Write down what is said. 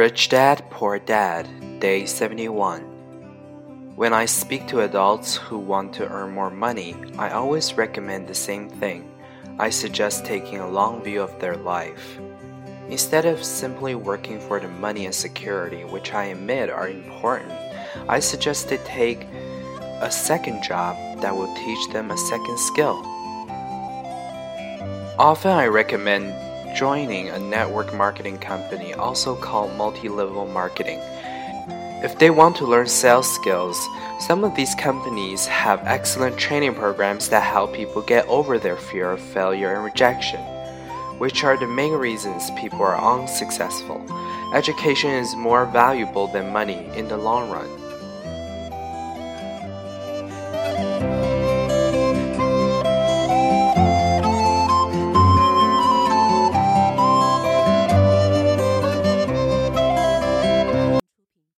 Rich Dad, Poor Dad, Day 71. When I speak to adults who want to earn more money, I always recommend the same thing. I suggest taking a long view of their life. Instead of simply working for the money and security, which I admit are important, I suggest they take a second job that will teach them a second skill. Often I recommend joining a network marketing company, also called multi-level marketing. If they want to learn sales skills, some of these companies have excellent training programs that help people get over their fear of failure and rejection, which are the main reasons people are unsuccessful. Education is more valuable than money in the long run.